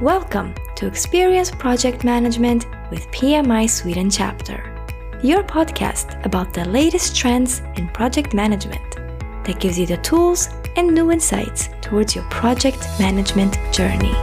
Welcome to Experience Project Management with PMI Sweden Chapter, your podcast about the latest trends in project management that gives you the tools and new insights towards your project management journey.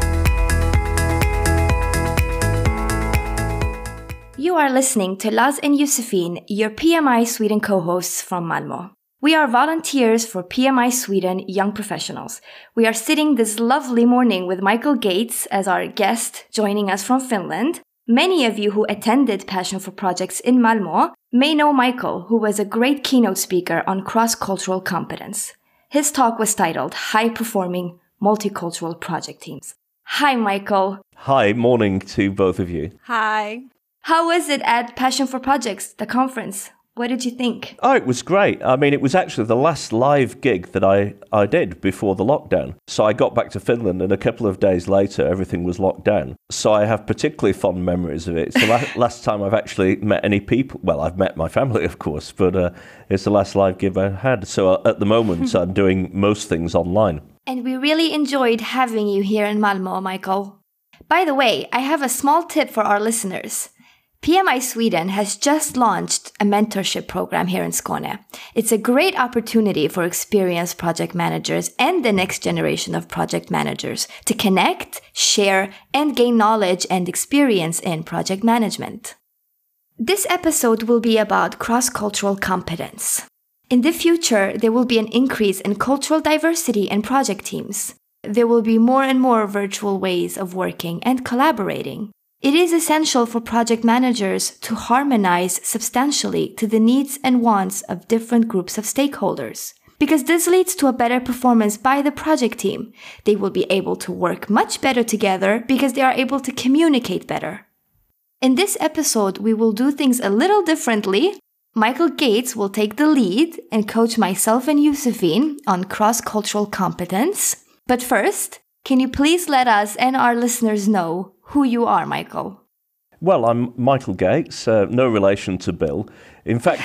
You are listening to Laz and Josefin, your PMI Sweden co-hosts from Malmö. We are volunteers for PMI Sweden Young Professionals. We are sitting this lovely morning with Michael Gates as our guest, joining us from Finland. Many of you who attended Passion for Projects in Malmö may know Michael, who was a great keynote speaker on cross-cultural competence. His talk was titled High-Performing Multicultural Project Teams. Hi, Michael. Hi, morning to both of you. Hi. How was it at Passion for Projects, the conference? What did you think? Oh, it was great. I mean, it was actually the last live gig that I did before the lockdown. So I got back to Finland and a couple of days later, everything was locked down. So I have particularly fond memories of it. It's the last time I've actually met any people. Well, I've met my family, of course, but it's the last live gig I had. So at the moment, I'm doing most things online. And we really enjoyed having you here in Malmö, Michael. By the way, I have a small tip for our listeners. PMI Sweden has just launched a mentorship program here in Skåne. It's a great opportunity for experienced project managers and the next generation of project managers to connect, share, and gain knowledge and experience in project management. This episode will be about cross-cultural competence. In the future, there will be an increase in cultural diversity in project teams. There will be more and more virtual ways of working and collaborating. It is essential for project managers to harmonize substantially to the needs and wants of different groups of stakeholders, because this leads to a better performance by the project team. They will be able to work much better together because they are able to communicate better. In this episode, we will do things a little differently. Michael Gates will take the lead and coach myself and Josefin on cross-cultural competence. But first, can you please let us and our listeners know who you are, Michael? Well, I'm Michael Gates, no relation to Bill. In fact,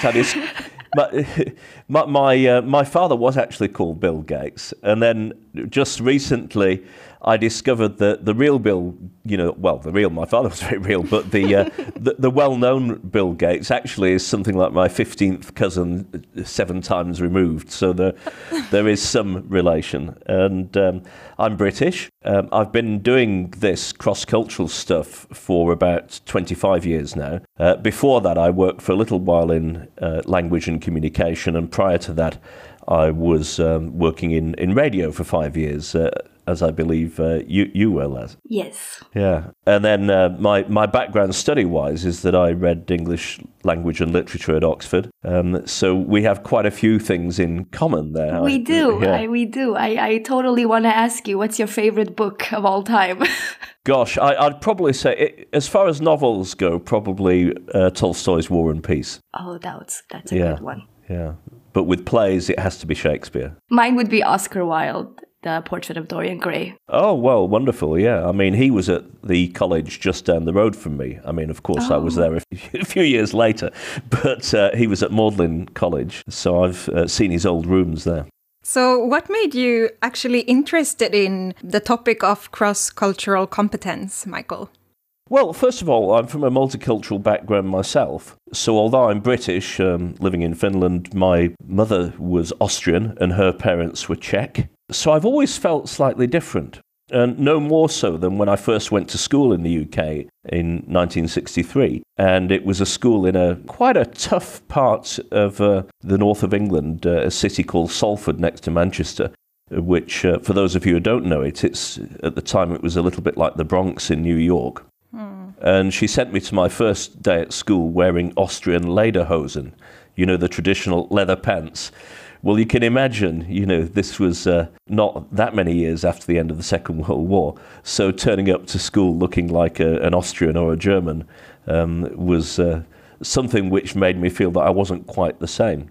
my father was actually called Bill Gates. And then just recently, I discovered that the real Bill, my father was very real, but the well-known Bill Gates actually is something like my 15th cousin, 7 times removed. So there is some relation. And I'm British. I've been doing this cross-cultural stuff for about 25 years now. Before that, I worked for a little while in language and communication. And prior to that, I was working in radio for 5 years, as I believe you were, Laz. Yes. Yeah. And then my background study-wise is that I read English language and literature at Oxford. So we have quite a few things in common there. We do. Yeah. We do. I totally want to ask you, what's your favorite book of all time? Gosh, I'd probably say, as far as novels go, probably Tolstoy's War and Peace. Oh, that's a good one. Yeah. But with plays, it has to be Shakespeare. Mine would be Oscar Wilde, The Portrait of Dorian Gray. Oh, well, wonderful, yeah. I mean, he was at the college just down the road from me. I mean, of course, I was there a few years later, but he was at Magdalen College, so I've seen his old rooms there. So what made you actually interested in the topic of cross-cultural competence, Michael? Well, first of all, I'm from a multicultural background myself. So although I'm British, living in Finland, my mother was Austrian and her parents were Czech. So I've always felt slightly different. And no more so than when I first went to school in the UK in 1963. And it was a school in quite a tough part of the north of England, a city called Salford next to Manchester, which, for those of you who don't know it, at the time it was a little bit like the Bronx in New York. And she sent me to my first day at school wearing Austrian lederhosen, the traditional leather pants. Well, you can imagine, this was not that many years after the end of the Second World War. So turning up to school looking like an Austrian or a German was something which made me feel that I wasn't quite the same.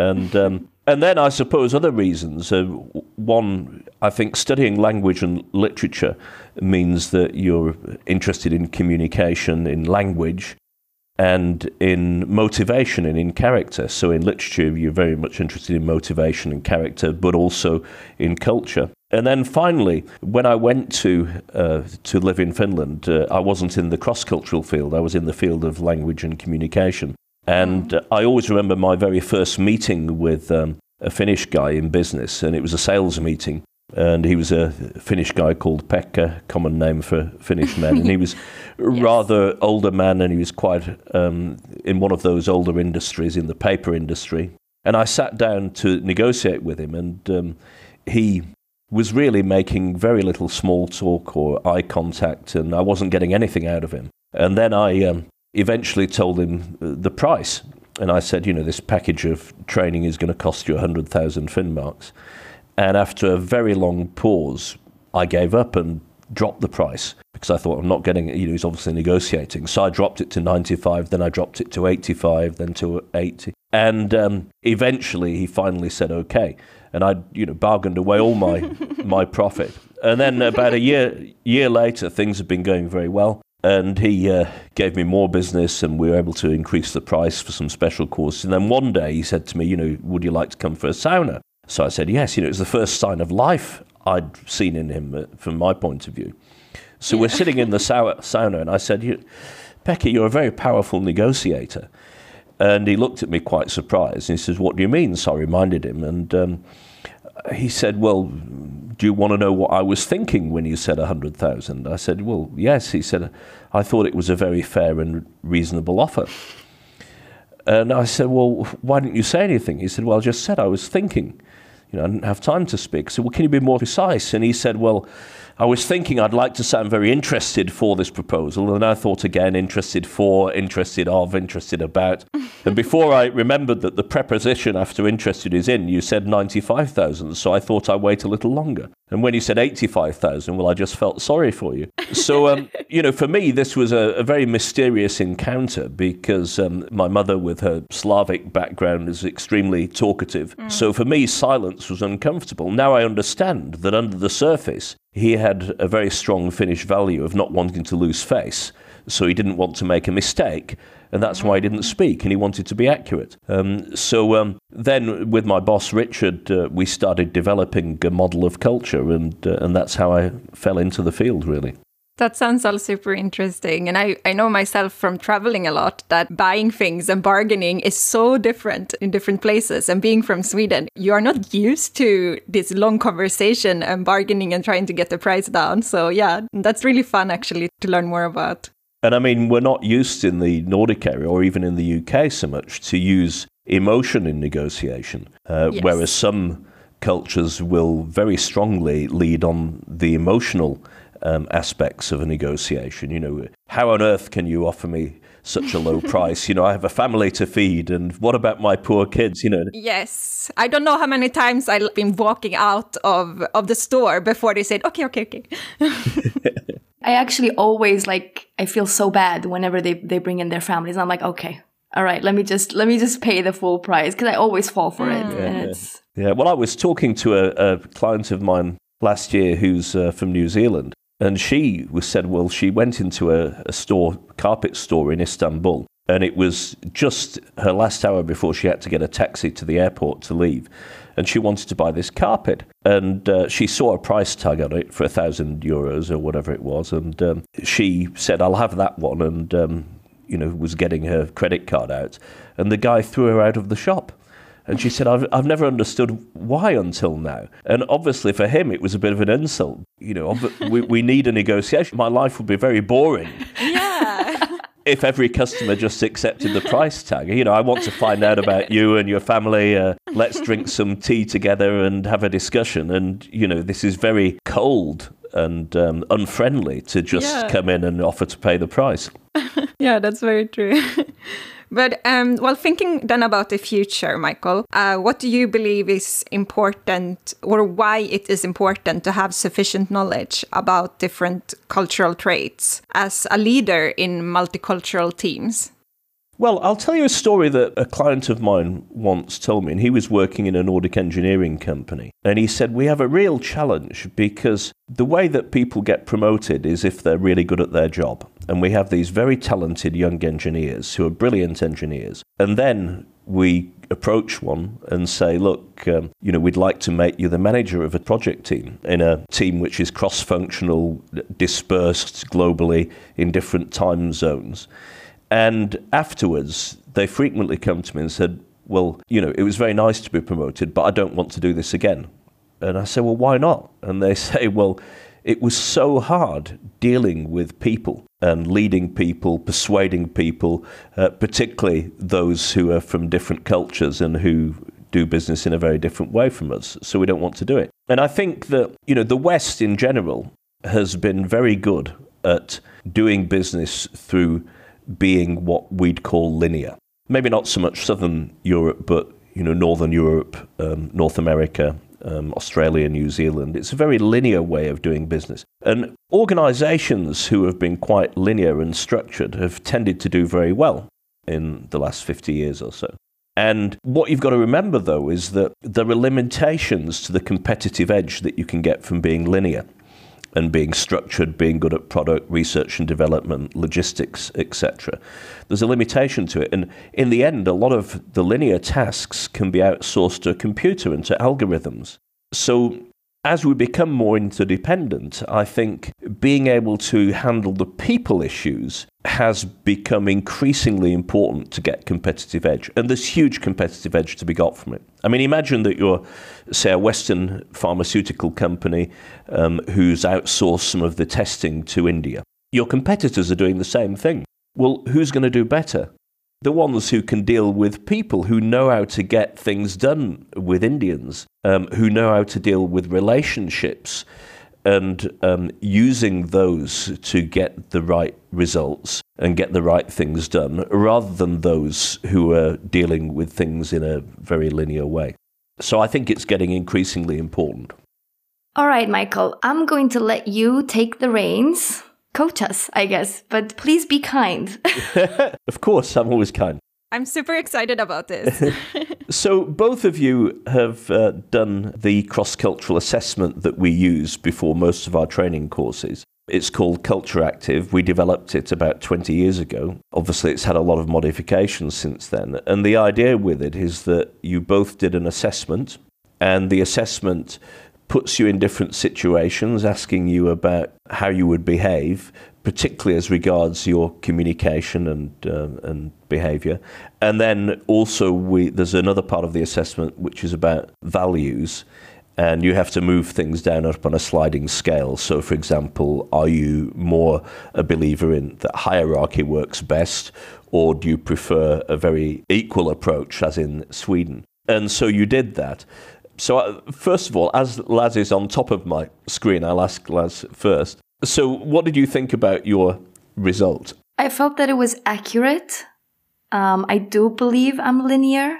And then I suppose other reasons. One, I think studying language and literature means that you're interested in communication, in language. and in motivation and in character. So in literature, you're very much interested in motivation and character, but also in culture. And then finally, when I went to live in Finland, I wasn't in the cross-cultural field. I was in the field of language and communication. And I always remember my very first meeting with a Finnish guy in business, and it was a sales meeting. And he was a Finnish guy called Pekka, common name for Finnish men. And he was Yes. rather older man, and he was quite in one of those older industries, in the paper industry. And I sat down to negotiate with him, and he was really making very little small talk or eye contact, and I wasn't getting anything out of him. And then I eventually told him the price. And I said, this package of training is going to cost you 100,000 Finmarks. And after a very long pause, I gave up and dropped the price because I thought I'm not getting it. He's obviously negotiating. So I dropped it to 95, then I dropped it to 85, then to 80. And eventually he finally said, okay. And I, bargained away all my profit. And then about a year later, things have been going very well. And he gave me more business, and we were able to increase the price for some special courses. And then one day he said to me, would you like to come for a sauna? So I said, yes. It was the first sign of life I'd seen in him from my point of view. So we're sitting in the sauna, and I said, Pekka, you're a very powerful negotiator. And he looked at me quite surprised. And he says, what do you mean? So I reminded him. And he said, well, do you want to know what I was thinking when you said 100,000? I said, well, yes. He said, I thought it was a very fair and reasonable offer. And I said, well, why didn't you say anything? He said, well, I just said I was thinking. I didn't have time to speak. So, well, can you be more precise? And he said, well, I was thinking I'd like to sound very interested for this proposal. And I thought again, interested for, interested of, interested about. And before I remembered that the preposition after interested is in, you said 95,000. So I thought I'd wait a little longer. And when you said 85,000, well, I just felt sorry for you. So, for me, this was a very mysterious encounter because my mother, with her Slavic background, is extremely talkative. So for me, silence was uncomfortable. Now I understand that under the surface, he had a very strong Finnish value of not wanting to lose face. So he didn't want to make a mistake. And that's why he didn't speak, and he wanted to be accurate. So then with my boss, Richard, we started developing a model of culture, and that's how I fell into the field, really. That sounds all super interesting. And I know myself from traveling a lot that buying things and bargaining is so different in different places. And being from Sweden, you are not used to this long conversation and bargaining and trying to get the price down. So yeah, that's really fun actually to learn more about. And I mean, we're not used in the Nordic area or even in the UK so much to use emotion in negotiation, Yes. whereas some cultures will very strongly lead on the emotional aspects of a negotiation. How on earth can you offer me such a low price? I have a family to feed, and what about my poor kids? Yes. I don't know how many times I've been walking out of the store before they said, okay. I actually always I feel so bad whenever they bring in their families. I'm like, okay, all right, let me just pay the full price, because I always fall for it. And it's... Yeah. Well, I was talking to a client of mine last year who's from New Zealand, and she said, well, she went into a carpet store in Istanbul, and it was just her last hour before she had to get a taxi to the airport to leave. And she wanted to buy this carpet. And she saw a price tag on it for €1,000 or whatever it was. And she said, I'll have that one. And, was getting her credit card out. And the guy threw her out of the shop. And she said, I've never understood why until now. And obviously for him, it was a bit of an insult. We need a negotiation. My life would be very boring. Yeah. If every customer just accepted the price tag. I want to find out about you and your family. Let's drink some tea together and have a discussion. And, this is very cold and unfriendly to just come in and offer to pay the price. Yeah, that's very true. But thinking then about the future, Michael, what do you believe is important, or why it is important to have sufficient knowledge about different cultural traits as a leader in multicultural teams? Well, I'll tell you a story that a client of mine once told me, and he was working in a Nordic engineering company. And he said, we have a real challenge because the way that people get promoted is if they're really good at their job. and we have these very talented young engineers who are brilliant engineers. And then we approach one and say, look, we'd like to make you the manager of a project team in a team which is cross-functional, dispersed globally in different time zones. And afterwards, they frequently come to me and said, well, it was very nice to be promoted, but I don't want to do this again. And I say, well, why not? And they say, well, it was so hard dealing with people and leading people, persuading people, particularly those who are from different cultures and who do business in a very different way from us. So we don't want to do it. And I think that, the West in general has been very good at doing business through being what we'd call linear. Maybe not so much Southern Europe, but, Northern Europe, North America, Australia, New Zealand. It's a very linear way of doing business. And organizations who have been quite linear and structured have tended to do very well in the last 50 years or so. And what you've got to remember, though, is that there are limitations to the competitive edge that you can get from being linear and being structured, being good at product research and development, logistics, etc. There's a limitation to it. And in the end, a lot of the linear tasks can be outsourced to a computer and to algorithms. So as we become more interdependent, I think being able to handle the people issues has become increasingly important to get competitive edge. And there's huge competitive edge to be got from it. I mean, imagine that you're, say, a Western pharmaceutical company who's outsourced some of the testing to India. Your competitors are doing the same thing. Well, who's going to do better? The ones who can deal with people, who know how to get things done with Indians, who know how to deal with relationships and using those to get the right results and get the right things done, rather than those who are dealing with things in a very linear way. So I think it's getting increasingly important. All right, Michael, I'm going to let you take the reins. Coach us, I guess, but please be kind. Of course, I'm always kind. I'm super excited about this. So both of you have done the cross-cultural assessment that we use before most of our training courses. It's called Culture Active. We developed it about 20 years ago. Obviously, it's had a lot of modifications since then. And the idea with it is that you both did an assessment, and the assessment puts you in different situations, asking you about how you would behave, particularly as regards your communication and behavior. And then also there's another part of the assessment which is about values, and you have to move things down up on a sliding scale. So, for example, are you more a believer in that hierarchy works best, or do you prefer a very equal approach, as in Sweden? And so you did that. So first of all, as Laz is on top of my screen, I'll ask Laz first. So what did you think about your result? I felt that it was accurate. I do believe I'm linear.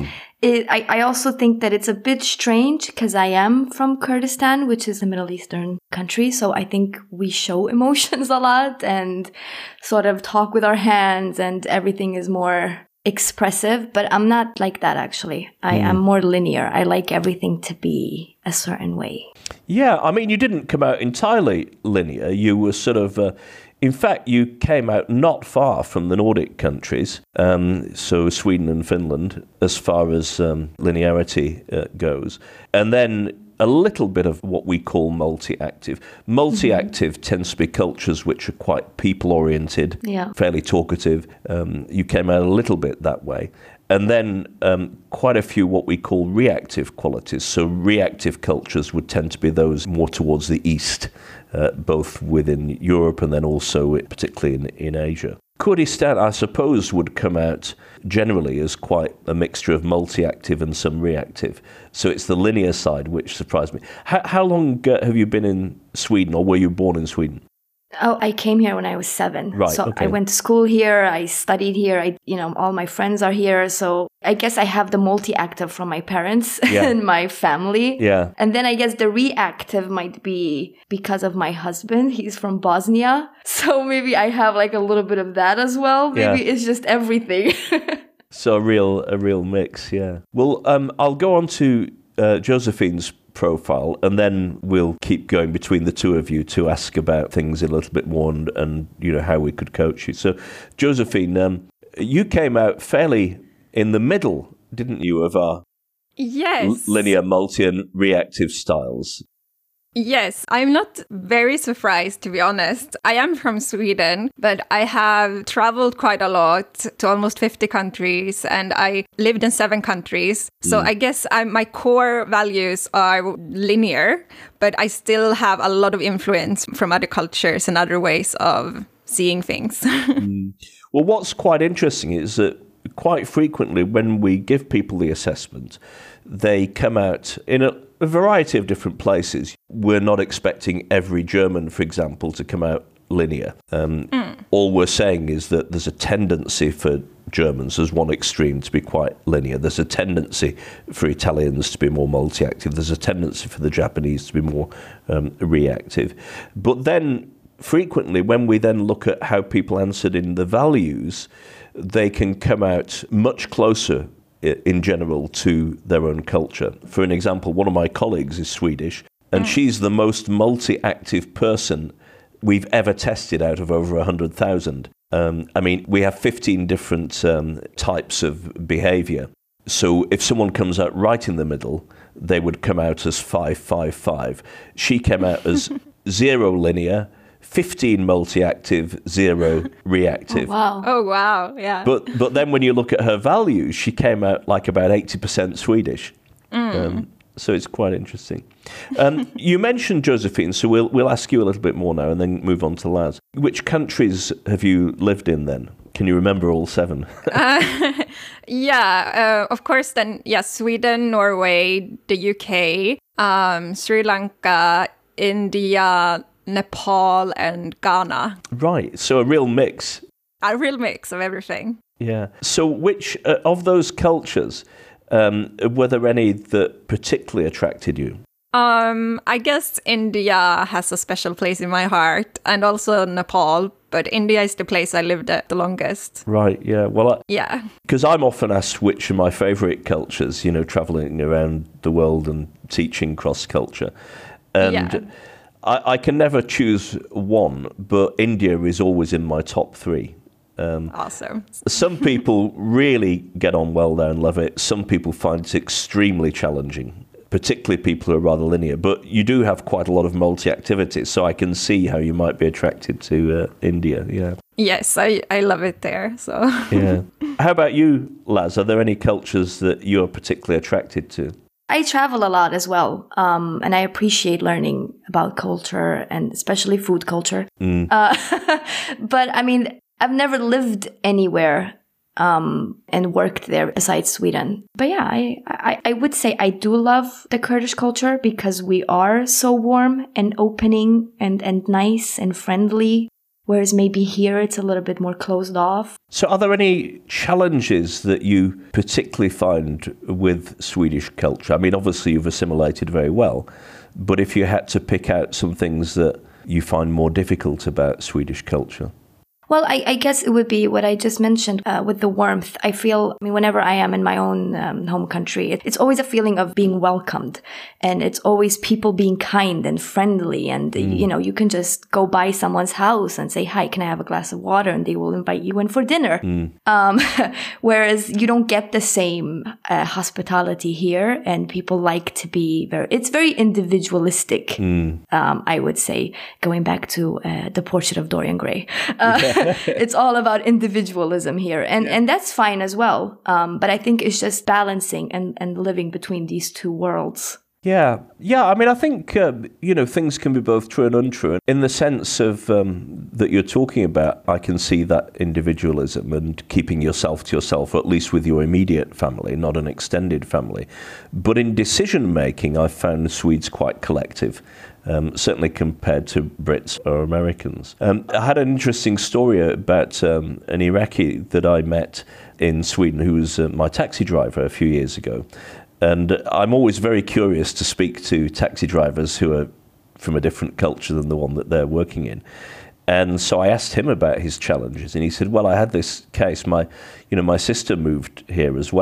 I also think that it's a bit strange because I am from Kurdistan, which is a Middle Eastern country. So I think we show emotions a lot and sort of talk with our hands, and everything is more expressive, but I'm not like that, actually. I am more linear. I like everything to be a certain way. Yeah, I mean, you didn't come out entirely linear. You were sort of, in fact, you came out not far from the Nordic countries, so Sweden and Finland, as far as linearity goes. And then a little bit of what we call multi-active. Multi-active tends to be cultures which are quite people-oriented, fairly talkative. You came out a little bit that way. And then quite a few what we call reactive qualities. So reactive cultures would tend to be those more towards the east, both within Europe and then also particularly in Asia. Kurdistan, I suppose, would come out generally as quite a mixture of multi-active and some reactive. So it's the linear side which surprised me. How long have you been in Sweden, or were you born in Sweden? Oh, I came here when I was 7. Right, so okay. I went to school here. I studied here. All my friends are here. So I guess I have the multi-active from my parents and my family. Yeah. And then I guess the reactive might be because of my husband. He's from Bosnia. So maybe I have like a little bit of that as well. Maybe it's just everything. So a real mix, yeah. Well, I'll go on to Josephine's profile, and then we'll keep going between the two of you to ask about things a little bit more and how we could coach you. So, Josephine, you came out fairly in the middle, didn't you, of our linear, multi, and reactive styles? Yes, I'm not very surprised, to be honest. I am from Sweden, but I have traveled quite a lot to almost 50 countries, and I lived in 7 countries. So I guess my core values are linear, but I still have a lot of influence from other cultures and other ways of seeing things. Well, what's quite interesting is that quite frequently when we give people the assessment, they come out in a variety of different places. We're not expecting every German, for example, to come out linear. All we're saying is that there's a tendency for Germans as one extreme to be quite linear. There's a tendency for Italians to be more multi-active. There's a tendency for the Japanese to be more reactive. But then frequently when we then look at how people answered in the values, they can come out much closer in general to their own culture. For an example, one of my colleagues is Swedish, and she's the most multi-active person we've ever tested out of over 100,000. I mean, we have 15 different types of behavior. So if someone comes out right in the middle, they would come out as 5-5-5. She came out as 0 linear, 15 multi-active, 0 reactive. Oh, wow. Yeah. But then when you look at her values, she came out like about 80% Swedish. So it's quite interesting. You mentioned Josephine, so we'll ask you a little bit more now and then move on to Laz. Which countries have you lived in then? Can you remember all 7? Of course then, Sweden, Norway, the UK, Sri Lanka, India, Nepal and Ghana. Right, so a real mix. A real mix of everything. Yeah. So which of those cultures, were there any that particularly attracted you? I guess India has a special place in my heart, and also Nepal, but India is the place I lived at the longest. Right, yeah. Well, yeah. Because I'm often asked which are my favourite cultures, travelling around the world and teaching cross-culture. And I can never choose one, but India is always in my top 3. Awesome. Some people really get on well there and love it. Some people find it extremely challenging, particularly people who are rather linear. But you do have quite a lot of multi-activity, so I can see how you might be attracted to India, yeah. Yes, I love it there, so. Yeah. How about you, Laz? Are there any cultures that you're particularly attracted to? I travel a lot as well, and I appreciate learning about culture and especially food culture. But I mean, I've never lived anywhere and worked there besides Sweden. But yeah, I would say I do love the Kurdish culture because we are so warm and opening and nice and friendly. Whereas maybe here it's a little bit more closed off. So are there any challenges that you particularly find with Swedish culture? I mean, obviously you've assimilated very well, but if you had to pick out some things that you find more difficult about Swedish culture? Well, I guess it would be what I just mentioned with the warmth. I feel, whenever I am in my own home country, it's always a feeling of being welcomed. And it's always people being kind and friendly. And, you can just go by someone's house and say, hi, can I have a glass of water? And they will invite you in for dinner. Whereas you don't get the same hospitality here. And people like to be it's very individualistic, I would say, going back to the portrait of Dorian Gray. It's all about individualism here. And that's fine as well. But I think it's just balancing and living between these two worlds. Yeah. I mean, I think, things can be both true and untrue. In the sense of that you're talking about, I can see that individualism and keeping yourself to yourself, or at least with your immediate family, not an extended family. But in decision making, I've found Swedes quite collective. Certainly compared to Brits or Americans. I had an interesting story about an Iraqi that I met in Sweden who was my taxi driver a few years ago. And I'm always very curious to speak to taxi drivers who are from a different culture than the one that they're working in. And so I asked him about his challenges, and he said, well, I had this case. My sister moved here as well.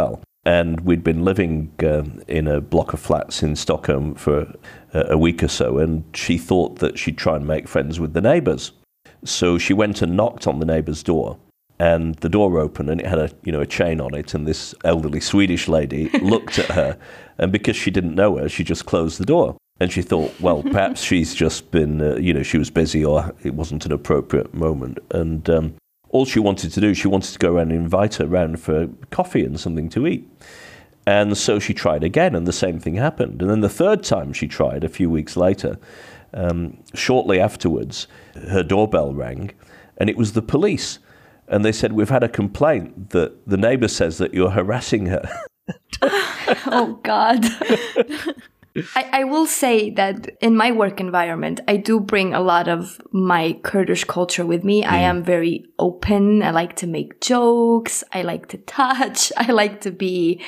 And we'd been living in a block of flats in Stockholm for a week or so, and she thought that she'd try and make friends with the neighbours. So she went and knocked on the neighbour's door, and the door opened, and it had a chain on it, and this elderly Swedish lady looked at her, and because she didn't know her, she just closed the door. And she thought, well, perhaps she's just been, she was busy, or it wasn't an appropriate moment. And all she wanted to do, she wanted to go around and invite her around for coffee and something to eat. And so she tried again, and the same thing happened. And then the third time she tried, a few weeks later, shortly afterwards, her doorbell rang, and it was the police. And they said, we've had a complaint that the neighbour says that you're harassing her. Oh, God. I will say that in my work environment, I do bring a lot of my Kurdish culture with me. I am very open. I like to make jokes. I like to touch. I like to be...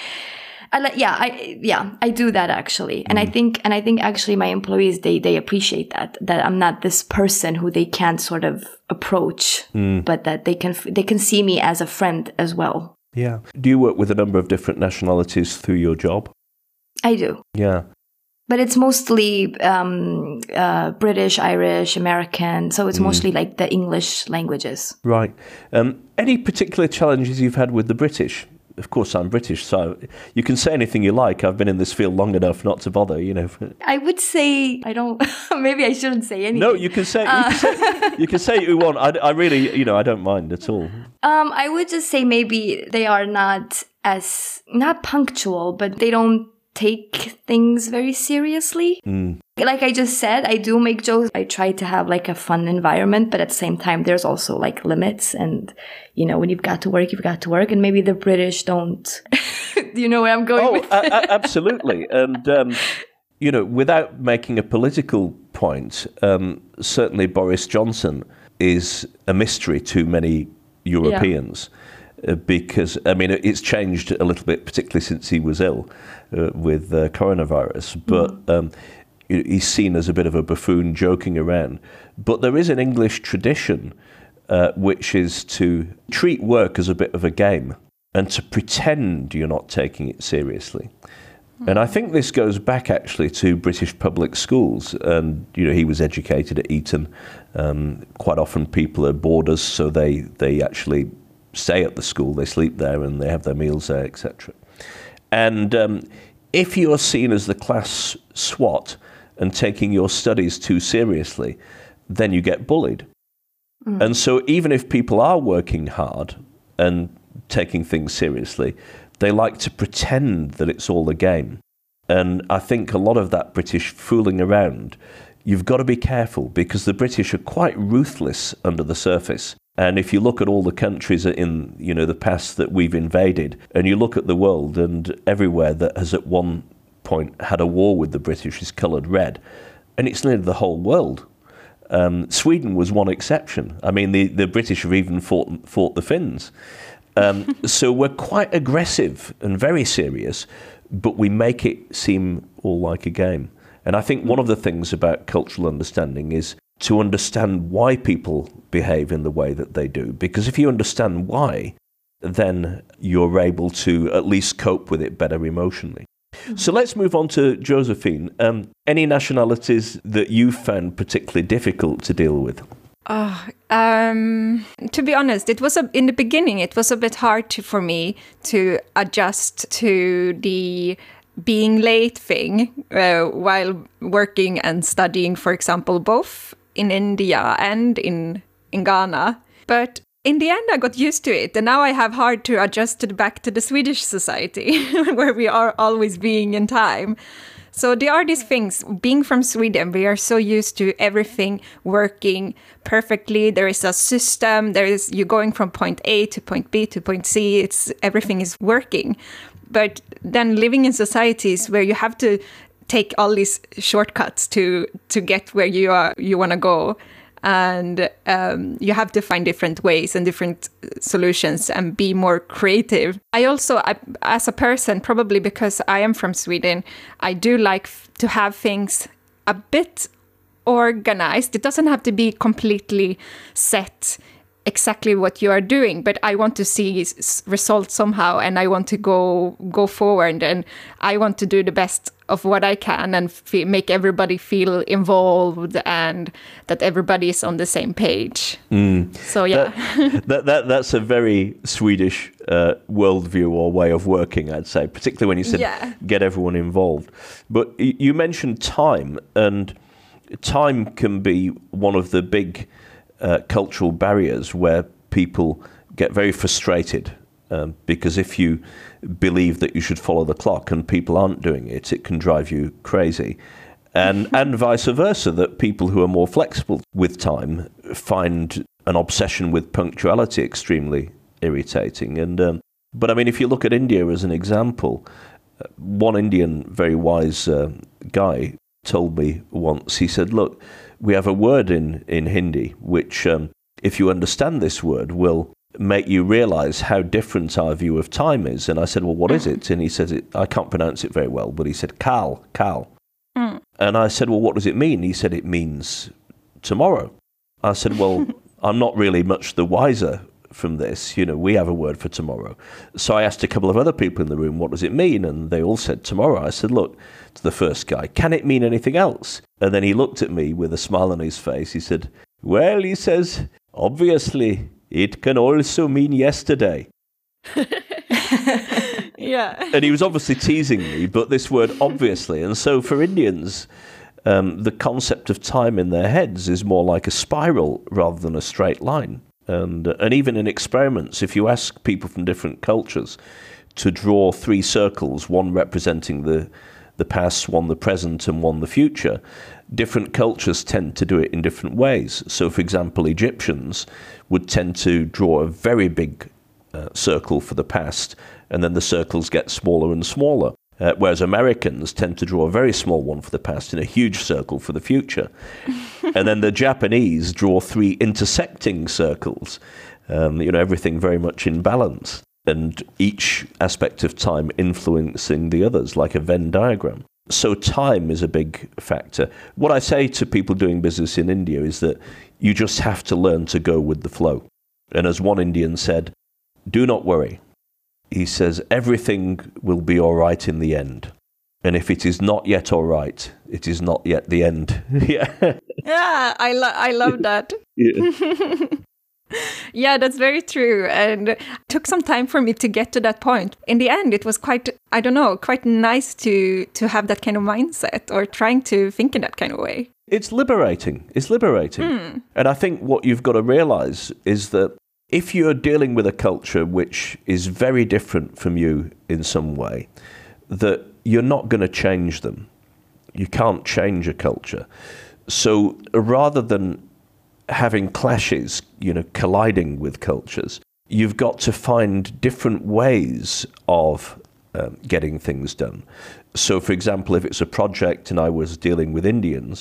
I do that actually. And I think actually my employees, they appreciate that I'm not this person who they can't sort of approach, but that they can see me as a friend as well. Yeah. Do you work with a number of different nationalities through your job? I do. Yeah. But it's mostly British, Irish, American. So it's mostly like the English languages. Right. Any particular challenges you've had with the British? Of course, I'm British, so you can say anything you like. I've been in this field long enough not to bother, I would say, I don't, maybe I shouldn't say anything. No, you can say you can say what you want. I really, I don't mind at all. I would just say maybe they are not punctual, but they don't take things very seriously. Like I just said, I do make jokes. I try to have like a fun environment, but at the same time, there's also like limits. And, when you've got to work, you've got to work. And maybe the British don't. Do you know where I'm going with this? Absolutely. And, without making a political point, certainly Boris Johnson is a mystery to many Europeans. Yeah. Because, it's changed a little bit, particularly since he was ill with coronavirus. But he's seen as a bit of a buffoon joking around. But there is an English tradition which is to treat work as a bit of a game and to pretend you're not taking it seriously. And I think this goes back actually to British public schools. And, he was educated at Eton. Quite often people are boarders, so they actually stay at the school, they sleep there and they have their meals there, etc. And if you're seen as the class swot and taking your studies too seriously, then you get bullied. And so even if people are working hard and taking things seriously, they like to pretend that it's all a game. And I think a lot of that British fooling around, you've got to be careful because the British are quite ruthless under the surface. And if you look at all the countries in, the past that we've invaded, and you look at the world, and everywhere that has at one point had a war with the British is coloured red, and it's nearly the whole world. Sweden was one exception. I mean, the British have even fought the Finns. So we're quite aggressive and very serious, but we make it seem all like a game. And I think one of the things about cultural understanding is to understand why people behave in the way that they do. Because if you understand why, then you're able to at least cope with it better emotionally. So let's move on to Josephine. Any nationalities that you found particularly difficult to deal with? To be honest, in the beginning, it was a bit hard for me to adjust to the being late thing while working and studying, for example, both in India and in Ghana. But in the end, I got used to it. And now I have hard to adjust back to the Swedish society where we are always being in time. So there are these things. Being from Sweden, we are so used to everything working perfectly. There is a system. You're going from point A to point B to point C. Everything is working. But then living in societies where you have to take all these shortcuts to get where you want to go. And you have to find different ways and different solutions and be more creative. I also, as a person, probably because I am from Sweden, I do like to have things a bit organized. It doesn't have to be completely set exactly what you are doing, but I want to see results somehow, and I want to go forward, and I want to do the best of what I can and make everybody feel involved and that everybody is on the same page. So yeah, that's a very Swedish worldview or way of working, I'd say, particularly when you said get everyone involved. But you mentioned time, and time can be one of the big cultural barriers where people get very frustrated because if you believe that you should follow the clock and people aren't doing it, it can drive you crazy. And vice versa, that people who are more flexible with time find an obsession with punctuality extremely irritating. And but I mean, if you look at India as an example, one Indian very wise guy told me once, he said, look, we have a word in Hindi which, if you understand this word, will make you realize how different our view of time is. And I said, well, what is it? And he said, I can't pronounce it very well, but he said, kal. And I said, well, what does it mean? He said, it means tomorrow. I said, well, I'm not really much the wiser from this. You know, we have a word for tomorrow. So I asked a couple of other people in the room, what does it mean? And they all said tomorrow. I said, look, to the first guy, can it mean anything else? And then he looked at me with a smile on his face. He said, well, he says, obviously, it can also mean yesterday. Yeah. And he was obviously teasing me, but this word obviously. And so for Indians, the concept of time in their heads is more like a spiral rather than a straight line. And even in experiments, if you ask people from different cultures to draw 3 circles, one representing the past, one the present, and one the future, different cultures tend to do it in different ways. So, for example, Egyptians would tend to draw a very big circle for the past, and then the circles get smaller and smaller. Whereas Americans tend to draw a very small one for the past and a huge circle for the future. And then the Japanese draw 3 intersecting circles, everything very much in balance, and each aspect of time influencing the others, like a Venn diagram. So time is a big factor. What I say to people doing business in India is that you just have to learn to go with the flow. And as one Indian said, do not worry. He says, everything will be all right in the end. And if it is not yet all right, it is not yet the end. Yeah. Yeah, I love that. Yeah. Yeah, that's very true. And it took some time for me to get to that point. In the end, it was quite nice to have that kind of mindset, or trying to think in that kind of way. It's liberating. And I think what you've got to realize is that if you're dealing with a culture which is very different from you in some way, that you're not going to change them. You can't change a culture. So rather than having clashes, colliding with cultures, you've got to find different ways of getting things done. So, for example, if it's a project and I was dealing with Indians,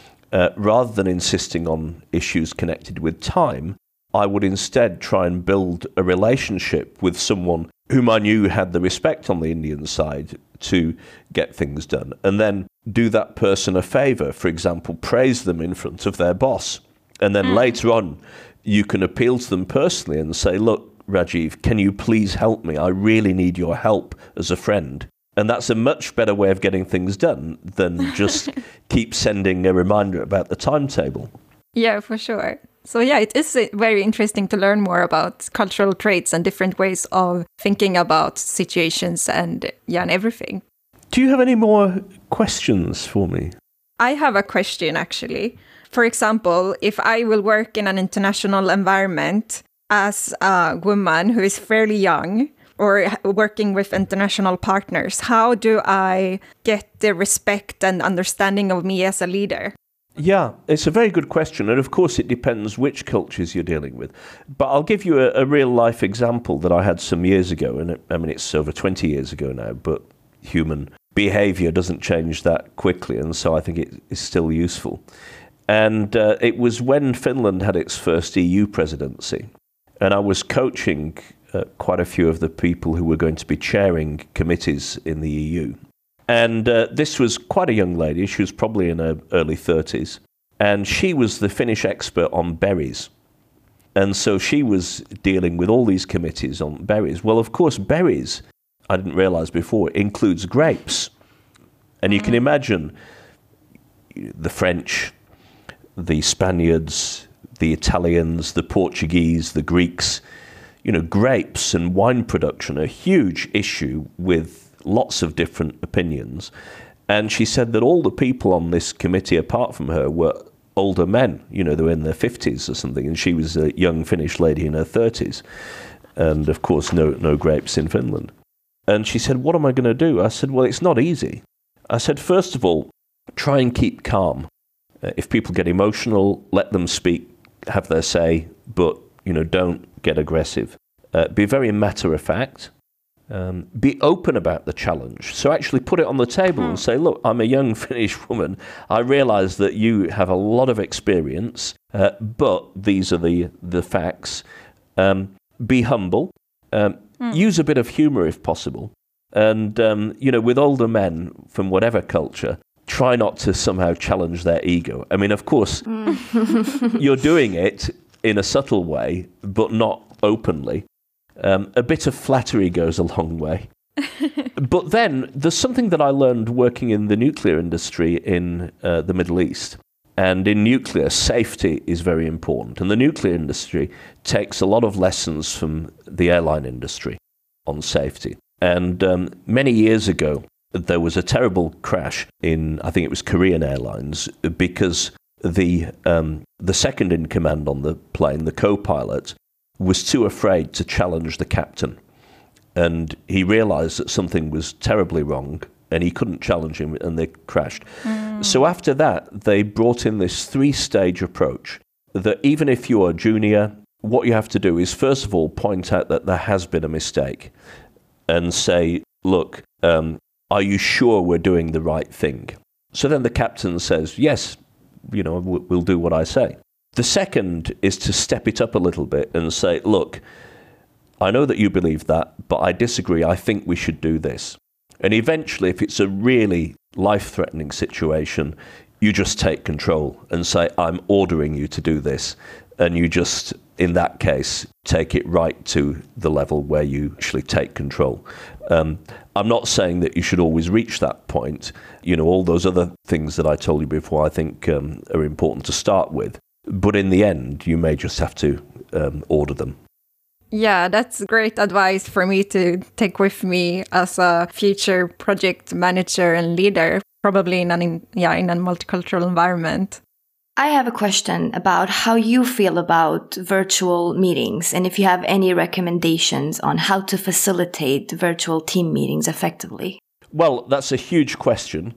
rather than insisting on issues connected with time, I would instead try and build a relationship with someone whom I knew had the respect on the Indian side to get things done, and then do that person a favor. For example, praise them in front of their boss. And then later on, you can appeal to them personally and say, look, Rajiv, can you please help me? I really need your help as a friend. And that's a much better way of getting things done than just keep sending a reminder about the timetable. Yeah, for sure. So yeah, it is very interesting to learn more about cultural traits and different ways of thinking about situations and everything. Do you have any more questions for me? I have a question, actually. For example, if I will work in an international environment as a woman who is fairly young, or working with international partners, how do I get the respect and understanding of me as a leader? Yeah, it's a very good question. And of course, it depends which cultures you're dealing with. But I'll give you a real life example that I had some years ago. And it's over 20 years ago now, but human behavior doesn't change that quickly. And so I think it is still useful. And it was when Finland had its first EU presidency. And I was coaching quite a few of the people who were going to be chairing committees in the EU. And this was quite a young lady. She was probably in her early 30s. And she was the Finnish expert on berries. And so she was dealing with all these committees on berries. Well, of course, berries, I didn't realise before, includes grapes. And you can imagine the French, the Spaniards, the Italians, the Portuguese, the Greeks, grapes and wine production, a huge issue with lots of different opinions. And she said that all the people on this committee, apart from her, were older men. They were in their 50s or something, and she was a young Finnish lady in her 30s. And, of course, no grapes in Finland. And she said, what am I going to do? I said, well, it's not easy. I said, first of all, try and keep calm. If people get emotional, let them speak, have their say, but, don't get aggressive. Be very matter-of-fact. Be open about the challenge. So actually put it on the table and say, look, I'm a young Finnish woman. I realise that you have a lot of experience, but these are the facts. Be humble. Use a bit of humour if possible. And, with older men from whatever culture, try not to somehow challenge their ego. I mean, of course, you're doing it in a subtle way, but not openly. A bit of flattery goes a long way. But then there's something that I learned working in the nuclear industry in the Middle East. And in nuclear, safety is very important. And the nuclear industry takes a lot of lessons from the airline industry on safety. And many years ago, there was a terrible crash in, I think it was Korean Airlines, because the second in command on the plane, the co-pilot, was too afraid to challenge the captain. And he realized that something was terribly wrong, and he couldn't challenge him, and they crashed. So after that, they brought in this 3-stage approach, that even if you are junior, what you have to do is, first of all, point out that there has been a mistake, and say, look, are you sure we're doing the right thing? So then the captain says, yes, we'll do what I say. The second is to step it up a little bit and say, look, I know that you believe that, but I disagree. I think we should do this. And eventually, if it's a really life-threatening situation, you just take control and say, I'm ordering you to do this. And you just, in that case, take it right to the level where you actually take control. I'm not saying that you should always reach that point. All those other things that I told you before, I think are important to start with. But in the end, you may just have to order them. Yeah, that's great advice for me to take with me as a future project manager and leader, probably in a multicultural environment. I have a question about how you feel about virtual meetings, and if you have any recommendations on how to facilitate virtual team meetings effectively. Well, that's a huge question.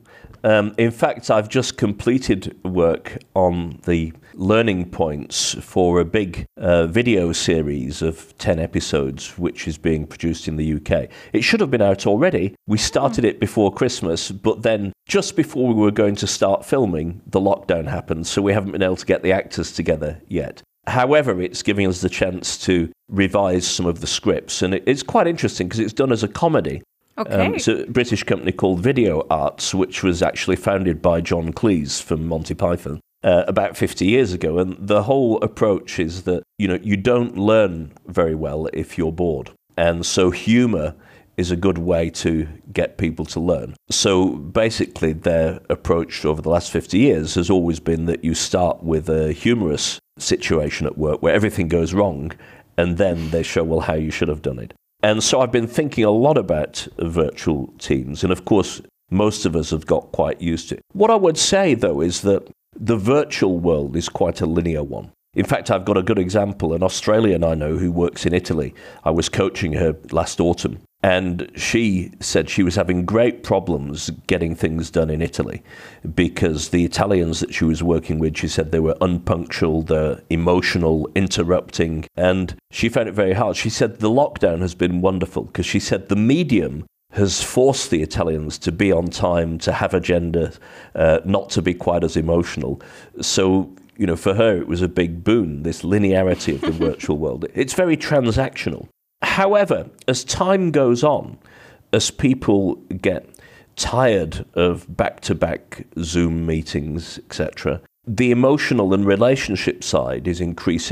In fact, I've just completed work on the learning points for a big video series of 10 episodes, which is being produced in the UK. It should have been out already. We started it before Christmas, but then just before we were going to start filming, the lockdown happened, so we haven't been able to get the actors together yet. However, it's giving us the chance to revise some of the scripts, and it's quite interesting because it's done as a comedy. Okay. It's a British company called Video Arts, which was actually founded by John Cleese from Monty Python about 50 years ago. And the whole approach is that, you don't learn very well if you're bored. And so humor is a good way to get people to learn. So basically their approach over the last 50 years has always been that you start with a humorous situation at work where everything goes wrong, and then they show, well, how you should have done it. And so I've been thinking a lot about virtual teams, and of course, most of us have got quite used to it. What I would say, though, is that the virtual world is quite a linear one. In fact, I've got a good example, an Australian I know who works in Italy. I was coaching her last autumn, and she said she was having great problems getting things done in Italy because the Italians that she was working with, she said they were unpunctual, they're emotional, interrupting, and she found it very hard. She said the lockdown has been wonderful because she said the medium has forced the Italians to be on time, to have agenda, not to be quite as emotional. So, for her, it was a big boon, this linearity of the virtual world. It's very transactional. However, as time goes on, as people get tired of back-to-back Zoom meetings, etc., the emotional and relationship side is increasing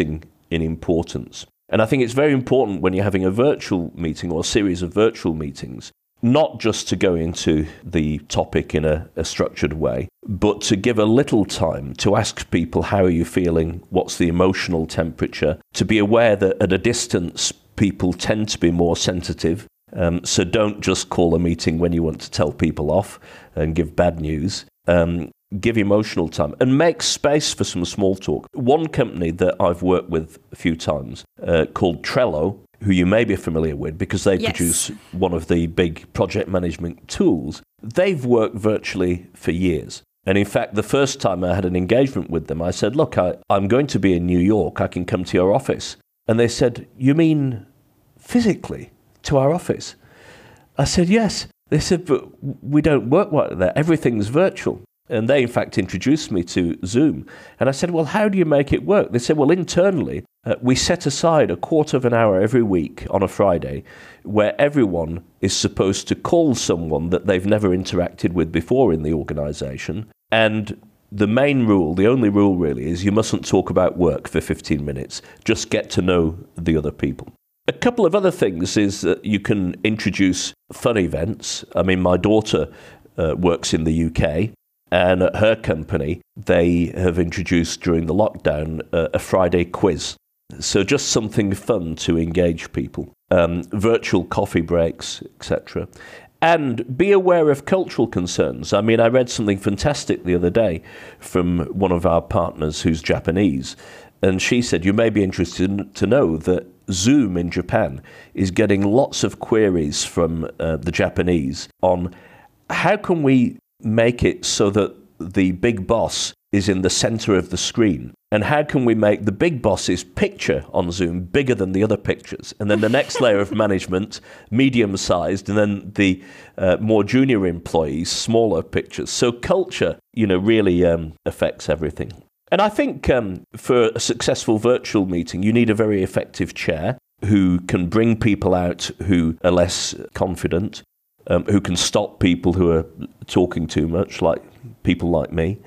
in importance. And I think it's very important when you're having a virtual meeting or a series of virtual meetings, not just to go into the topic in a structured way, but to give a little time to ask people, how are you feeling? What's the emotional temperature? To be aware that at a distance, people tend to be more sensitive. So don't just call a meeting when you want to tell people off and give bad news. Give emotional time and make space for some small talk. One company that I've worked with a few times called Trello, who you may be familiar with because they produce one of the big project management tools. They've worked virtually for years. And in fact, the first time I had an engagement with them, I said, look, I'm going to be in New York. I can come to your office. And they said, you mean physically to our office? I said, yes. They said, but we don't work like that. Everything's virtual. And they, in fact, introduced me to Zoom. And I said, well, how do you make it work? They said, well, internally, we set aside a quarter of an hour every week on a Friday where everyone is supposed to call someone that they've never interacted with before in the organization. And the main rule, the only rule really, is you mustn't talk about work for 15 minutes. Just get to know the other people. A couple of other things is that you can introduce fun events. I mean, my daughter works in the UK. And at her company, they have introduced during the lockdown a Friday quiz. So just something fun to engage people. Virtual coffee breaks, etc. And be aware of cultural concerns. I mean, I read something fantastic the other day from one of our partners who's Japanese. And she said, you may be interested to know that Zoom in Japan is getting lots of queries from the Japanese on how can we make it so that the big boss is in the center of the screen? And how can we make the big boss's picture on Zoom bigger than the other pictures? And then the next layer of management, medium-sized, and then the more junior employees, smaller pictures. So culture, really affects everything. And I think for a successful virtual meeting, you need a very effective chair who can bring people out who are less confident, who can stop people who are talking too much, like people like me.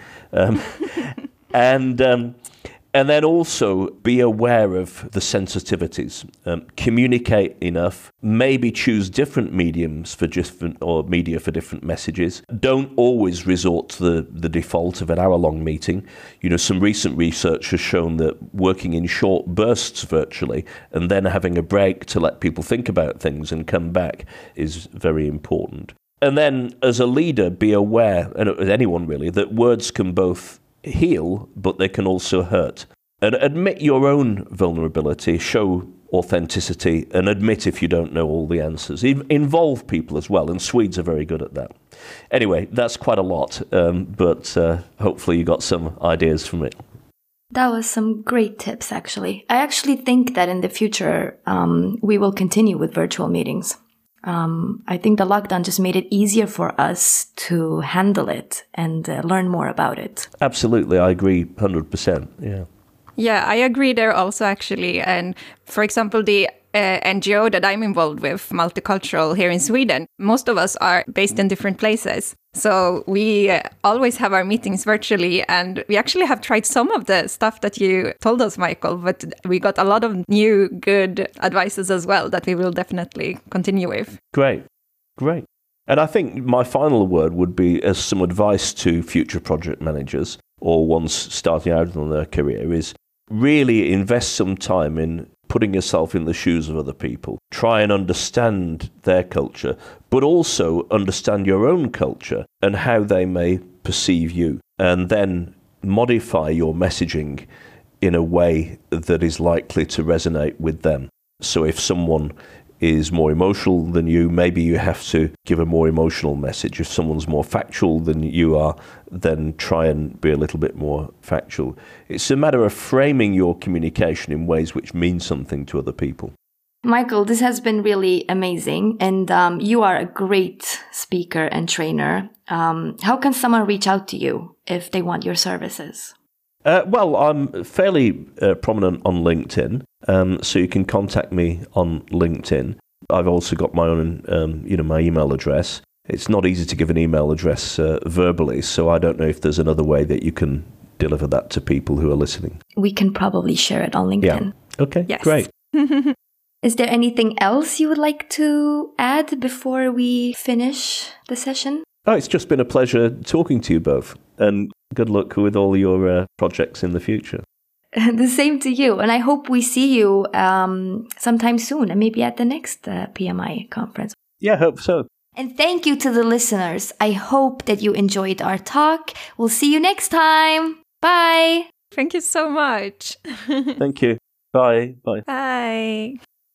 And then also be aware of the sensitivities. Communicate enough. Maybe choose different mediums for media for different messages. Don't always resort to the default of an hour-long meeting. Some recent research has shown that working in short bursts virtually and then having a break to let people think about things and come back is very important. And then as a leader, be aware, and as anyone really, that words can both heal, but they can also hurt. And admit your own vulnerability, show authenticity, and admit if you don't know all the answers. Involve people as well, and Swedes are very good at that. Anyway, that's quite a lot, but hopefully you got some ideas from it. That was some great tips, actually. I actually think that in the future, we will continue with virtual meetings. I think the lockdown just made it easier for us to handle it and learn more about it. Absolutely, I agree 100%, yeah. Yeah, I agree there also, actually. And for example, the NGO that I'm involved with, Multicultural here in Sweden, most of us are based in different places. So we always have our meetings virtually, and we actually have tried some of the stuff that you told us, Michael, but we got a lot of new good advices as well that we will definitely continue with. Great. And I think my final word would be as some advice to future project managers or ones starting out on their career is really invest some time in putting yourself in the shoes of other people. Try and understand their culture, but also understand your own culture and how they may perceive you. And then modify your messaging in a way that is likely to resonate with them. So if someone is more emotional than you, maybe you have to give a more emotional message. If someone's more factual than you are, then try and be a little bit more factual. It's a matter of framing your communication in ways which mean something to other people. Michael, this has been really amazing, and you are a great speaker and trainer. How can someone reach out to you if they want your services? Well, I'm fairly prominent on LinkedIn, so you can contact me on LinkedIn. I've also got my own, my email address. It's not easy to give an email address verbally, so I don't know if there's another way that you can deliver that to people who are listening. We can probably share it on LinkedIn. Okay, Yes. great. Is there anything else you would like to add before we finish the session? Oh, it's just been a pleasure talking to you both, and good luck with all your projects in the future. The same to you. And I hope we see you sometime soon, and maybe at the next PMI conference. Yeah, I hope so. And thank you to the listeners. I hope that you enjoyed our talk. We'll see you next time. Bye. Thank you so much. Thank you. Bye. Bye. Bye.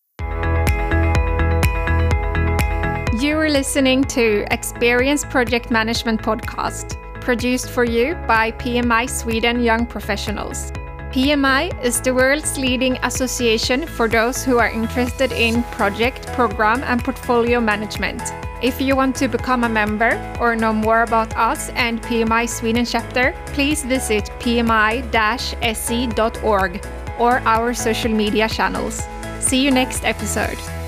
You are listening to Experience Project Management Podcast, produced for you by PMI Sweden Young Professionals. PMI is the world's leading association for those who are interested in project, program, and portfolio management. If you want to become a member or know more about us and PMI Sweden chapter, please visit pmi-se.org or our social media channels. See you next episode.